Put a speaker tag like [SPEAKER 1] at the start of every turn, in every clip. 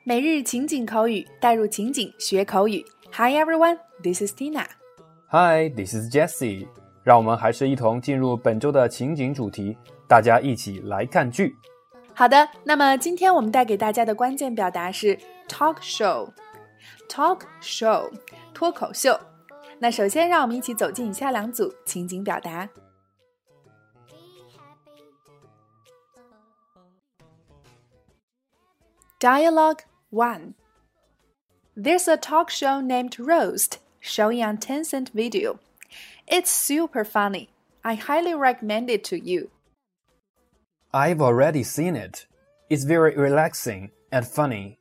[SPEAKER 1] 每日情景口语，带入情景学口语。Hi everyone, this is Tina.
[SPEAKER 2] Hi, this is Jessie. 让我们还是一同进入本周的情景主题，大家一起来看剧。
[SPEAKER 1] 好的，那么今天我们带给大家的关键表达是 talk show。talk show 脱口秀。那首先让我们一起走进以下两组情景表达。Dialogue 1. There's a talk show named Roast showing on Tencent Video. It's super funny. I highly recommend it to you.
[SPEAKER 2] I've already seen it. It's very relaxing and funny.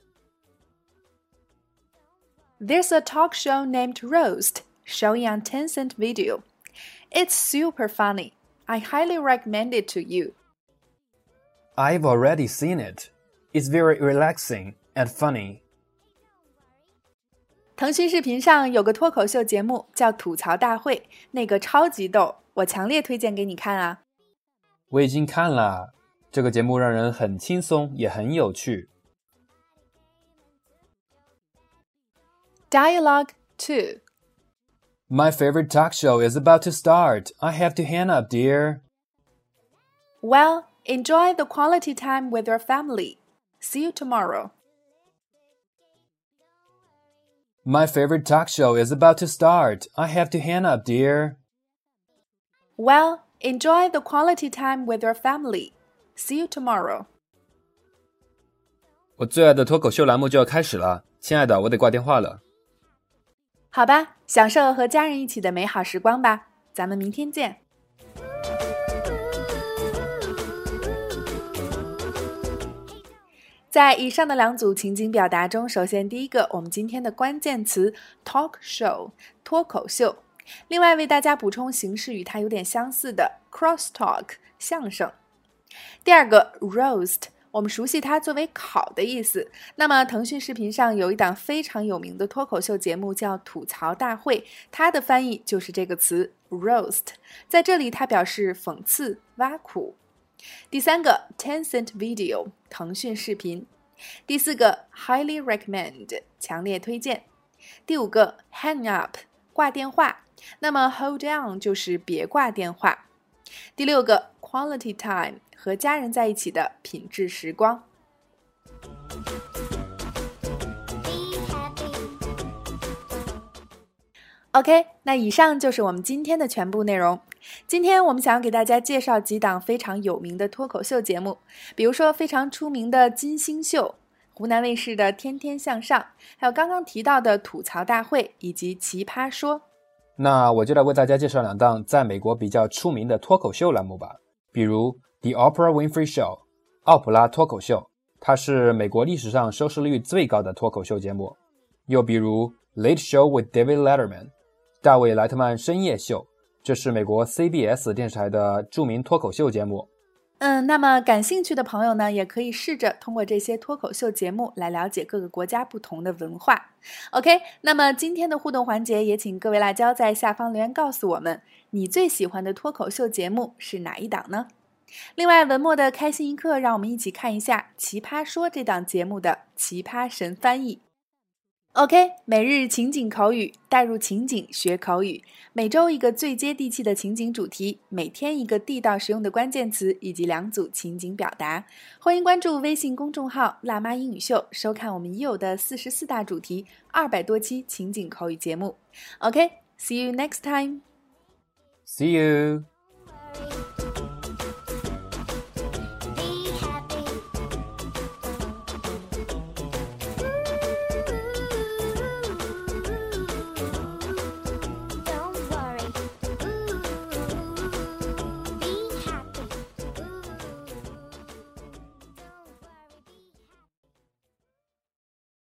[SPEAKER 1] There's a talk show named Roast showing on Tencent Video. It's super funny. I highly recommend it to you.
[SPEAKER 2] I've already seen it. It's very relaxing and funny.
[SPEAKER 1] 腾讯视频上有个脱口秀节目叫吐槽大会，那个超级逗，我强烈推荐给你看啊。
[SPEAKER 2] 我已经看了，这个节目让人很轻松，也很有趣。
[SPEAKER 1] Dialogue 2.
[SPEAKER 2] My favorite talk show is about to start. I have to hang up, dear.
[SPEAKER 1] Well, enjoy the quality time with your family. See you tomorrow.
[SPEAKER 2] My favorite talk show is about to start. I have to hang up, dear.
[SPEAKER 1] Well, enjoy the quality time with your family. See you tomorrow.
[SPEAKER 2] 我最爱的脱口秀栏目就要开始了，亲爱的，我得挂电话了。
[SPEAKER 1] 好吧，享受和家人一起的美好时光吧。咱们明天见。在以上的两组情景表达中，首先第一个，我们今天的关键词 talk show 脱口秀。另外为大家补充形式与它有点相似的 cross talk 相声。第二个 roast， 我们熟悉它作为烤的意思。那么腾讯视频上有一档非常有名的脱口秀节目叫吐槽大会，它的翻译就是这个词 roast， 在这里它表示讽刺挖苦。第三个 Tencent Video 腾讯视频。第四个 highly recommend 强烈推荐。第五个 hang up 挂电话，那么 hold on 就是别挂电话。第六个 quality time 和家人在一起的品质时光。OK， 那以上就是我们今天的全部内容。今天我们想要给大家介绍几档非常有名的脱口秀节目，比如说非常出名的金星秀、湖南卫视的天天向上，还有刚刚提到的吐槽大会以及奇葩说。
[SPEAKER 2] 那我就来为大家介绍两档在美国比较出名的脱口秀栏目吧，比如 The Oprah Winfrey Show 奥普拉脱口秀，它是美国历史上收视率最高的脱口秀节目。又比如 Late Show with David Letterman 大卫莱特曼深夜秀，这是美国 CBS 电视台的著名脱口秀节目。
[SPEAKER 1] 那么感兴趣的朋友呢，也可以试着通过这些脱口秀节目来了解各个国家不同的文化。OK， 那么今天的互动环节也请各位辣椒在下方留言告诉我们，你最喜欢的脱口秀节目是哪一档呢？另外文末的开心一刻，让我们一起看一下奇葩说这档节目的奇葩神翻译。OK， 每日情景口语，带入情景学口语。每周一个最接地气的情景主题，每天一个地道实用的关键词以及两组情景表达。欢迎关注微信公众号辣妈英语秀，收看我们已有的44大主题200多期情景口语节目。OK，see you next time.
[SPEAKER 2] See you.